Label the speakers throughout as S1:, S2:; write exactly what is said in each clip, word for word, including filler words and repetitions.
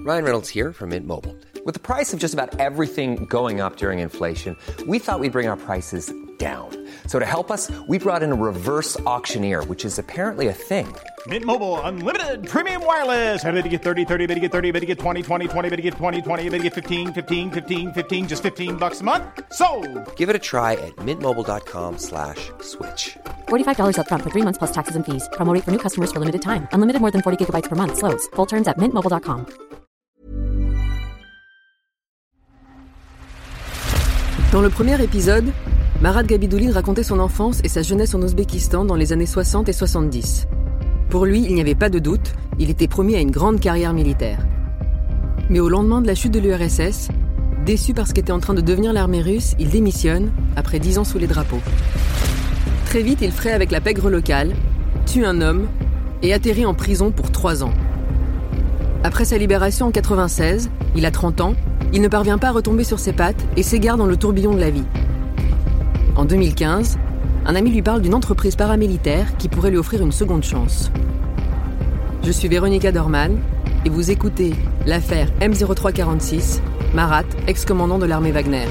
S1: Ryan Reynolds here from Mint Mobile. With the price of just about everything going up during inflation, we thought we'd bring our prices down. So to help us, we brought in a reverse auctioneer, which is apparently a thing.
S2: Mint Mobile Unlimited Premium Wireless. How to get thirty, thirty, how to get thirty, how to get twenty, twenty, twenty, how to get twenty, twenty, how to get fifteen, fifteen, fifteen, fifteen, just fifteen bucks a month? Sold!
S1: Give it a try at mintmobile.com slash switch.
S3: forty-five dollars up front for three months plus taxes and fees. Promo rate for new customers for limited time. Unlimited more than forty gigabytes per month. Slows full terms at mint mobile dot com.
S4: Dans le premier épisode, Marat Gabidouline racontait son enfance et sa jeunesse en Ouzbékistan dans les années soixante et soixante-dix. Pour lui, il n'y avait pas de doute, il était promis à une grande carrière militaire. Mais au lendemain de la chute de l'U R S S, déçu par ce qu'était en train de devenir l'armée russe, il démissionne, après dix ans sous les drapeaux. Très vite, il fraye avec la pègre locale, tue un homme et atterrit en prison pour trois ans. Après sa libération en quatre-vingt-seize, il a trente ans, il ne parvient pas à retomber sur ses pattes et s'égare dans le tourbillon de la vie. En deux mille quinze, un ami lui parle d'une entreprise paramilitaire qui pourrait lui offrir une seconde chance. Je suis Véronica Dorman et vous écoutez l'affaire M zéro trois quarante-six, Marat, ex-commandant de l'armée Wagner.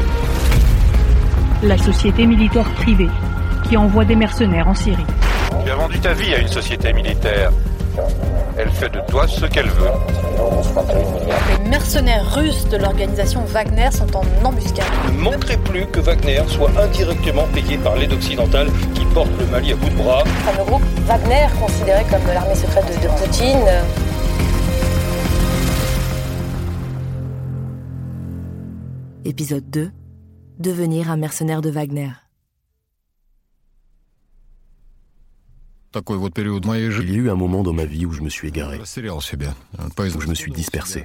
S5: La société militaire privée qui envoie des mercenaires en Syrie.
S6: Tu as vendu ta vie à une société militaire. Elle fait de toi ce qu'elle veut.
S7: Les mercenaires russes de l'organisation Wagner sont en embuscade.
S6: Il ne manquerait plus que Wagner soit indirectement payé par l'aide occidentale qui porte le Mali à bout de bras.
S7: Enfin, le groupe Wagner, considéré comme l'armée secrète de, de Poutine.
S8: Épisode deux. Devenir un mercenaire de Wagner.
S9: Il y a eu un moment dans ma vie où je me suis égaré, où je me suis dispersé.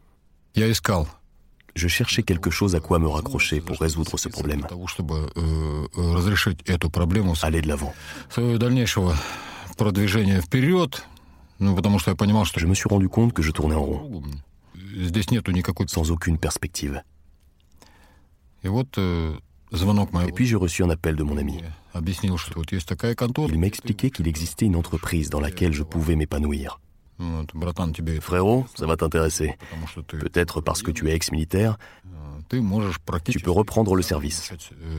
S9: Je cherchais quelque chose à quoi me raccrocher pour résoudre ce problème. Aller de l'avant. Je me suis rendu compte que je tournais en rond, sans aucune perspective. Et puis j'ai reçu un appel de mon ami. Il m'a expliqué qu'il existait une entreprise dans laquelle je pouvais m'épanouir. Frérot, ça va t'intéresser. Peut-être parce que tu es ex-militaire, tu peux reprendre le service.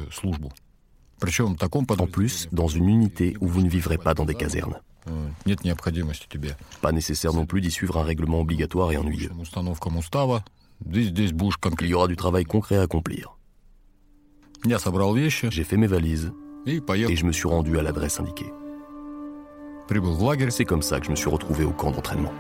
S9: En plus, dans une unité où vous ne vivrez pas dans des casernes. Pas nécessaire non plus d'y suivre un règlement obligatoire et ennuyeux. Il y aura du travail concret à accomplir. J'ai fait mes valises et je me suis rendu à l'adresse indiquée. C'est comme ça que je me suis retrouvé au camp d'entraînement.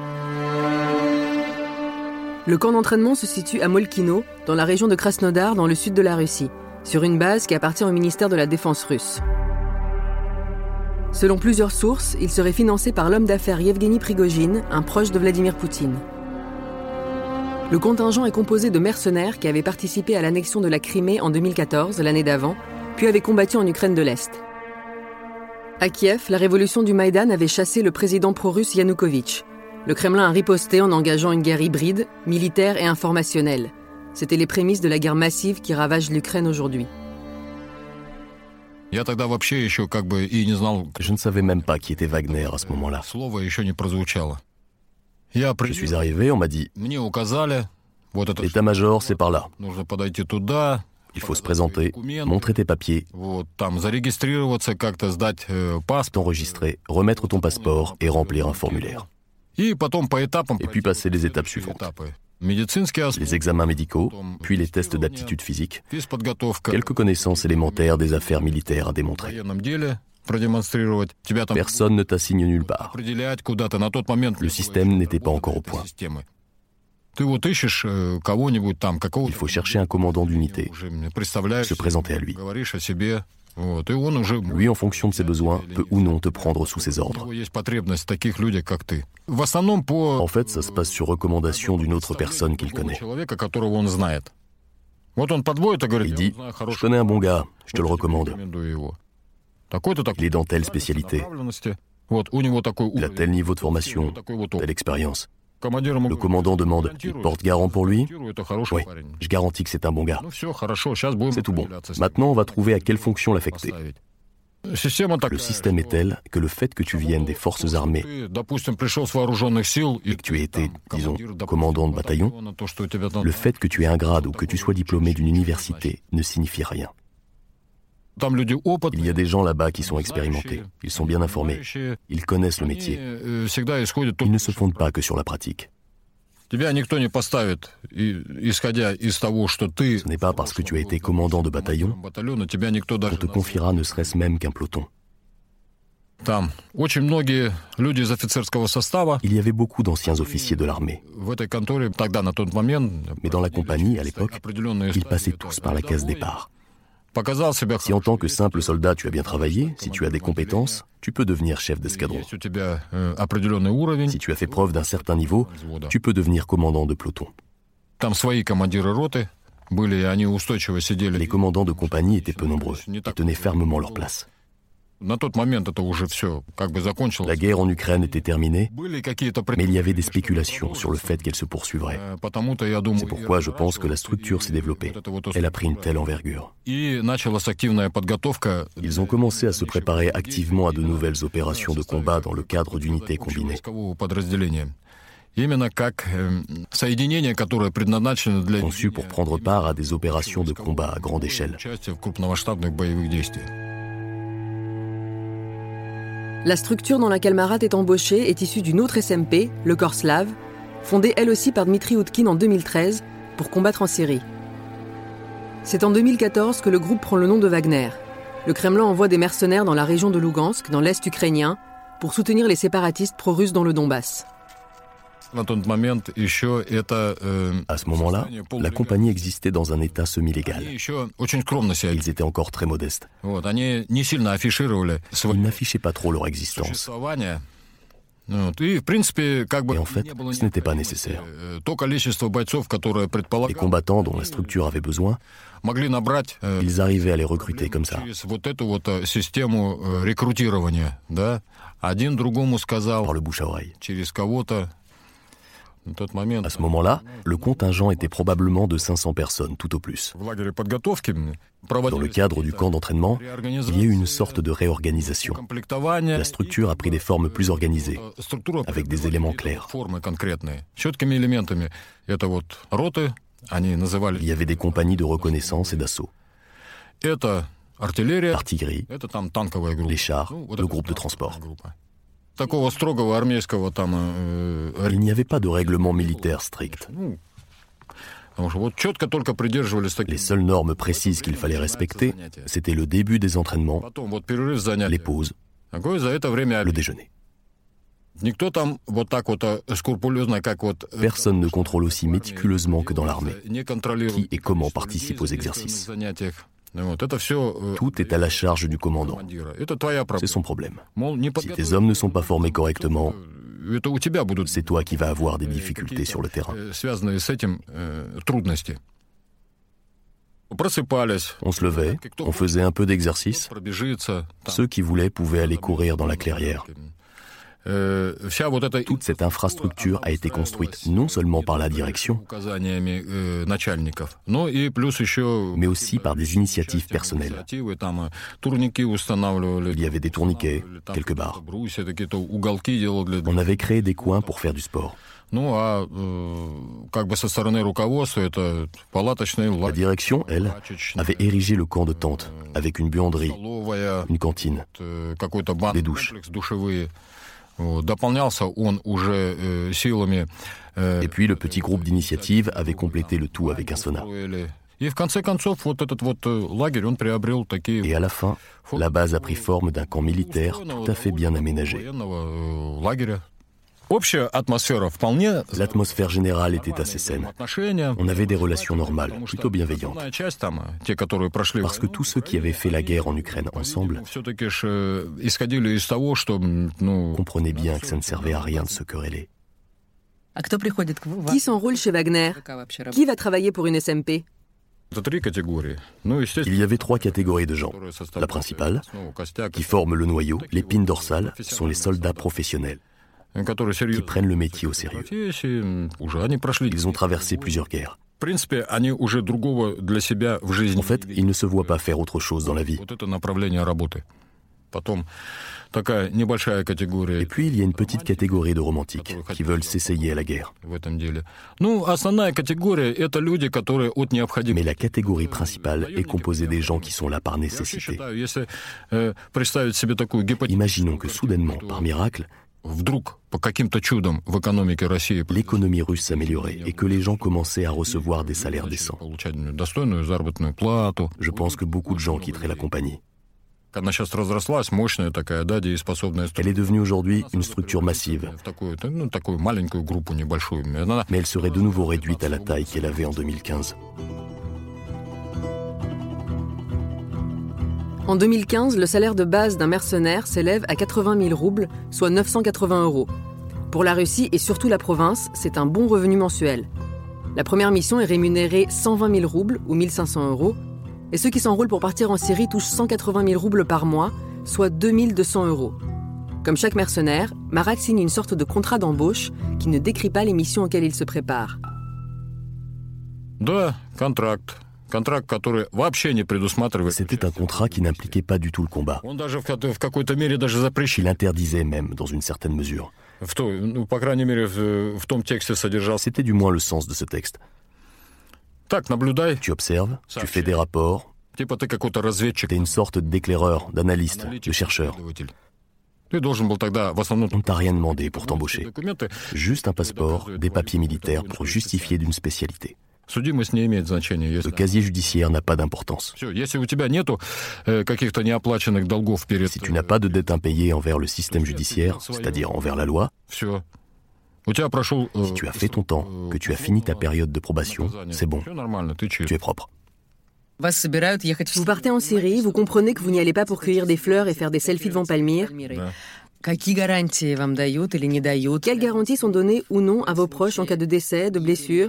S4: Le camp d'entraînement se situe à Molkino, dans la région de Krasnodar, dans le sud de la Russie, sur une base qui appartient au ministère de la Défense russe. Selon plusieurs sources, il serait financé par l'homme d'affaires Yevgeny Prigojine, un proche de Vladimir Poutine. Le contingent est composé de mercenaires qui avaient participé à l'annexion de la Crimée en deux mille quatorze, l'année d'avant, puis avaient combattu en Ukraine de l'Est. À Kiev, la révolution du Maïdan avait chassé le président pro-russe Yanukovych. Le Kremlin a riposté en engageant une guerre hybride, militaire et informationnelle. C'étaient les prémices de la guerre massive qui ravage l'Ukraine aujourd'hui.
S9: Je ne savais même pas qui était Wagner à ce moment-là. Je suis arrivé, on m'a dit « L'état-major, c'est par là. Il faut se présenter, montrer tes papiers, t'enregistrer, remettre ton passeport et remplir un formulaire. Et puis passer les étapes suivantes. Les examens médicaux, puis les tests d'aptitude physique, quelques connaissances élémentaires des affaires militaires à démontrer. Personne ne t'assigne nulle part. Le système n'était pas encore au point. Il faut chercher un commandant d'unité, se présenter à lui. Lui, en fonction de ses besoins, peut ou non te prendre sous ses ordres. En fait, ça se passe sur recommandation d'une autre personne qu'il connaît. Il dit « Je connais un bon gars, je te le recommande. Il est dans telle spécialité. Il a tel niveau de formation, telle expérience. » Le commandant demande « Tu portes garant pour lui ?» Oui, je garantis que c'est un bon gars. C'est tout bon. Maintenant, on va trouver à quelle fonction l'affecter. Le système est tel que le fait que tu viennes des forces armées et que tu aies été, disons, commandant de bataillon, le fait que tu aies un grade ou que tu sois diplômé d'une université ne signifie rien. Il y a des gens là-bas qui sont expérimentés, ils sont bien informés, ils connaissent le métier. Ils ne se fondent pas que sur la pratique. Ce n'est pas parce que tu as été commandant de bataillon qu'on te confiera ne serait-ce même qu'un peloton. Il y avait beaucoup d'anciens officiers de l'armée. Mais dans la compagnie, à l'époque, ils passaient tous par la case départ. Si en tant que simple soldat tu as bien travaillé, si tu as des compétences, tu peux devenir chef d'escadron. Si tu as fait preuve d'un certain niveau, tu peux devenir commandant de peloton. Les commandants de compagnie étaient peu nombreux et tenaient fermement leur place. La guerre en Ukraine était terminée, mais il y avait des spéculations sur le fait qu'elle se poursuivrait. C'est pourquoi je pense que la structure s'est développée. Elle a pris une telle envergure. Ils ont commencé à se préparer activement à de nouvelles opérations de combat dans le cadre d'unités combinées. Conçues pour prendre part à des opérations de combat à grande échelle.
S4: La structure dans laquelle Marat est embauché est issue d'une autre S M P, le Corps Slave, fondée elle aussi par Dmitri Oudkine en deux mille treize pour combattre en Syrie. C'est en deux mille quatorze que le groupe prend le nom de Wagner. Le Kremlin envoie des mercenaires dans la région de Lugansk, dans l'est ukrainien, pour soutenir les séparatistes pro-russes dans le Donbass.
S9: À ce moment-là, la compagnie existait dans un état semi-légal. Ils étaient encore très modestes. Ils n'affichaient pas trop leur existence. Et en fait, ce n'était pas nécessaire. Les combattants dont la structure avait besoin, ils arrivaient à les recruter comme ça. Par le bouche à oreille. À ce moment-là, le contingent était probablement de cinq cents personnes, tout au plus. Dans le cadre du camp d'entraînement, il y a eu une sorte de réorganisation. La structure a pris des formes plus organisées, avec des éléments clairs. Il y avait des compagnies de reconnaissance et d'assaut. Artillerie, les chars, le groupe de transport. Il n'y avait pas de règlement militaire strict. Les seules normes précises qu'il fallait respecter, c'était le début des entraînements, les pauses, le déjeuner. Personne ne contrôle aussi méticuleusement que dans l'armée qui et comment participe aux exercices. Tout est à la charge du commandant. C'est son problème. Si tes hommes ne sont pas formés correctement, c'est toi qui vas avoir des difficultés sur le terrain. On se levait, on faisait un peu d'exercice. Ceux qui voulaient pouvaient aller courir dans la clairière. Toute cette infrastructure a été construite non seulement par la direction, mais aussi par des initiatives personnelles. Il y avait des tourniquets, quelques barres. On avait créé des coins pour faire du sport. La direction, elle, avait érigé le camp de tente, avec une buanderie, une cantine, des douches. Et puis le petit groupe d'initiative avait complété le tout avec un sauna. Et à la fin, la base a pris forme d'un camp militaire tout à fait bien aménagé. L'atmosphère générale était assez saine. On avait des relations normales, plutôt bienveillantes. Parce que tous ceux qui avaient fait la guerre en Ukraine ensemble comprenaient bien que ça ne servait à rien de se quereller.
S4: Qui s'enrôle chez Wagner? Qui va travailler pour une S M P?
S9: Il y avait trois catégories de gens. La principale, qui forme le noyau, l'épine dorsale, sont les soldats professionnels, qui prennent le métier au sérieux. Ils ont traversé plusieurs guerres. En fait, ils ne se voient pas faire autre chose dans la vie. Et puis il y a une petite catégorie de romantiques qui veulent s'essayer à la guerre. Mais la catégorie principale est composée des gens qui sont là par nécessité. Imaginons que soudainement, par miracle, l'économie russe s'améliorait et que les gens commençaient à recevoir des salaires décents. Je pense que beaucoup de gens quitteraient la compagnie. Elle est devenue aujourd'hui une structure massive, mais elle serait de nouveau réduite à la taille qu'elle avait en deux mille quinze.
S4: En deux mille quinze, le salaire de base d'un mercenaire s'élève à quatre-vingt mille roubles, soit neuf cent quatre-vingts euros. Pour la Russie et surtout la province, c'est un bon revenu mensuel. La première mission est rémunérée cent vingt mille roubles ou mille cinq cents euros, et ceux qui s'enrôlent pour partir en Syrie touchent cent quatre-vingt mille roubles par mois, soit deux mille deux cents euros. Comme chaque mercenaire, Marat signe une sorte de contrat d'embauche qui ne décrit pas les missions auxquelles il se prépare.
S9: C'était un contrat qui n'impliquait pas du tout le combat. Il interdisait même, dans une certaine mesure. C'était du moins le sens de ce texte. Tu observes, tu fais des rapports, tu es une sorte d'éclaireur, d'analyste, de chercheur. On ne t'a rien demandé pour t'embaucher. Juste un passeport, des papiers militaires pour justifier d'une spécialité. Le casier judiciaire n'a pas d'importance. Si tu n'as pas de dette impayée envers le système judiciaire, c'est-à-dire envers la loi, si tu as fait ton temps, que tu as fini ta période de probation, c'est bon, tu es propre.
S4: Vous partez en Syrie, vous comprenez que vous n'y allez pas pour cueillir des fleurs et faire des selfies devant Palmyre. Quelles garanties sont données ou non à vos proches en cas de décès, de blessure?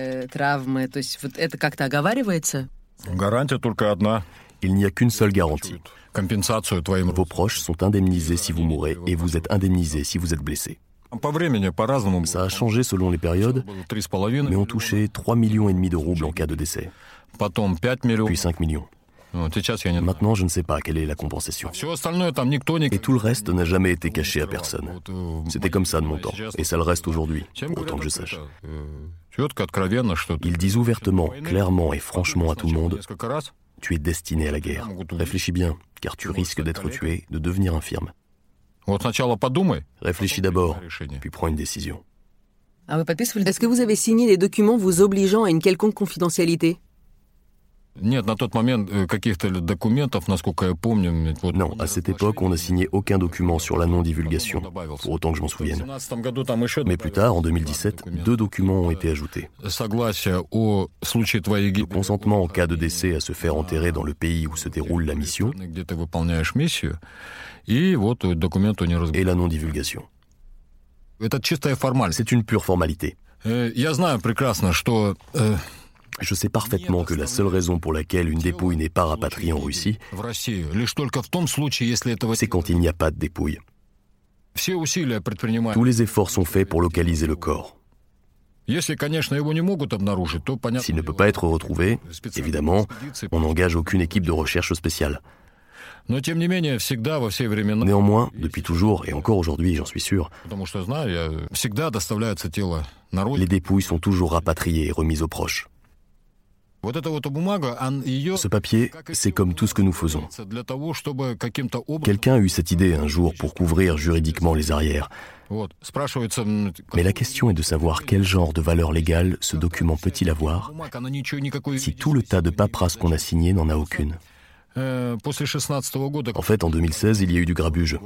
S9: Il n'y a qu'une seule garantie. Vos proches sont indemnisés si vous mourrez et vous êtes indemnisés si vous êtes blessé. Ça a changé selon les périodes, mais on touchait trois millions et demi de roubles en cas de décès. Puis cinq millions. Maintenant, je ne sais pas quelle est la compensation. Et tout le reste n'a jamais été caché à personne. C'était comme ça de mon temps, et ça le reste aujourd'hui, pour autant que je sache. Ils disent ouvertement, clairement et franchement à tout le monde, tu es destiné à la guerre. Réfléchis bien, car tu risques d'être tué, de devenir infirme. Réfléchis d'abord, puis prends une décision.
S4: Est-ce que vous avez signé des documents vous obligeant à une quelconque confidentialité?
S9: Non, à cette époque, on n'a signé aucun document sur la non-divulgation, pour autant que je m'en souvienne. Mais plus tard, en deux mille dix-sept, deux documents ont été ajoutés. Le consentement en cas de décès à se faire enterrer dans le pays où se déroule la mission et la non-divulgation. C'est une pure formalité. Je sais parfaitement que la seule raison pour laquelle une dépouille n'est pas rapatriée en Russie, c'est quand il n'y a pas de dépouille. Tous les efforts sont faits pour localiser le corps. S'il ne peut pas être retrouvé, évidemment, on n'engage aucune équipe de recherche spéciale. Néanmoins, depuis toujours, et encore aujourd'hui, j'en suis sûr, les dépouilles sont toujours rapatriées et remises aux proches. Ce papier, c'est comme tout ce que nous faisons. Quelqu'un a eu cette idée un jour pour couvrir juridiquement les arrières. Mais la question est de savoir quel genre de valeur légale ce document peut-il avoir si tout le tas de paperasse qu'on a signé n'en a aucune. En fait, en deux mille seize, il y a eu du grabuge.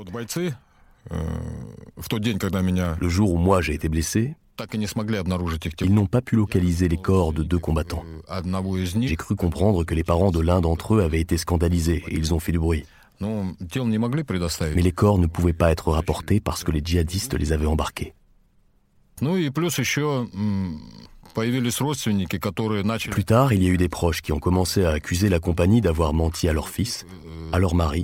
S9: Le jour où moi j'ai été blessé, ils n'ont pas pu localiser les corps de deux combattants. J'ai cru comprendre que les parents de l'un d'entre eux avaient été scandalisés et ils ont fait du bruit. Mais les corps ne pouvaient pas être rapportés parce que les djihadistes les avaient embarqués. Plus tard, il y a eu des proches qui ont commencé à accuser la compagnie d'avoir menti à leur fils, à leur mari,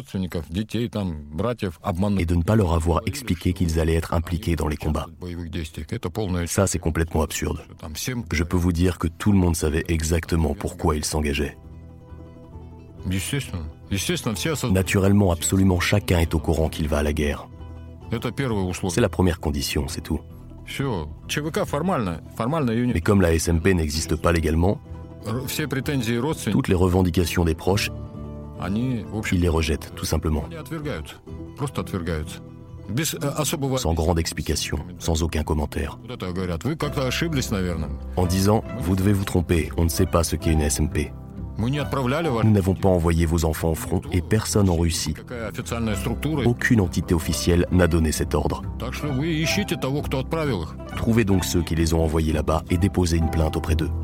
S9: et de ne pas leur avoir expliqué qu'ils allaient être impliqués dans les combats. Ça, c'est complètement absurde. Je peux vous dire que tout le monde savait exactement pourquoi ils s'engageaient. Naturellement, absolument chacun est au courant qu'il va à la guerre. C'est la première condition, c'est tout. Mais comme la S M P n'existe pas légalement, toutes les revendications des proches, ils les rejettent, tout simplement. Sans grande explication, sans aucun commentaire. En disant, vous devez vous tromper, on ne sait pas ce qu'est une S M P. Nous n'avons pas envoyé vos enfants au front et personne en Russie. Aucune entité officielle n'a donné cet ordre. Trouvez donc ceux qui les ont envoyés là-bas et déposez une plainte auprès d'eux.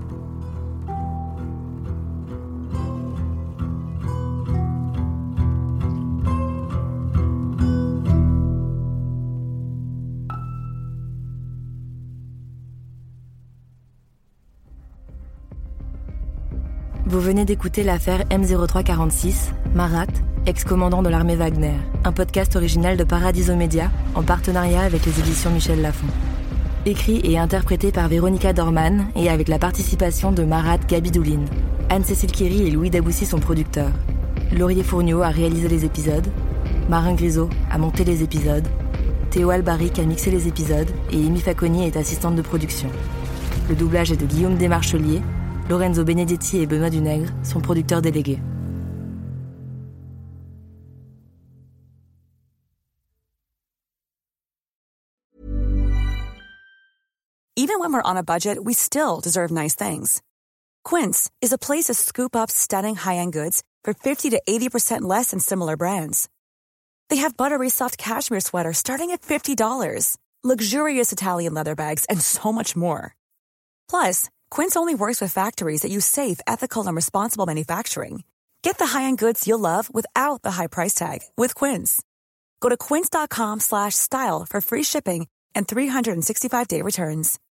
S8: Vous venez d'écouter l'affaire M zéro trois quarante-six, Marat, ex-commandant de l'armée Wagner, un podcast original de Paradiso Media en partenariat avec les éditions Michel Lafon. Écrit et interprété par Véronica Dorman et avec la participation de Marat Gabidouline. Anne-Cécile Kéry et Louis Daboussi sont producteurs. Laurier Fourniot a réalisé les épisodes. Marin Grisot a monté les épisodes. Théo Albaric a mixé les épisodes et Amy Facconi est assistante de production. Le doublage est de Guillaume Desmarchelier. Lorenzo Benedetti et Benoît Dunègre sont producteurs délégués.
S10: Even when we're on a budget, we still deserve nice things. Quince is a place to scoop up stunning high-end goods for fifty to eighty percent less than similar brands. They have buttery soft cashmere sweaters starting at fifty dollars, luxurious Italian leather bags, and so much more. Plus, Quince only works with factories that use safe, ethical, and responsible manufacturing. Get the high-end goods you'll love without the high price tag with Quince. Go to quince.com slash style for free shipping and three sixty-five day returns.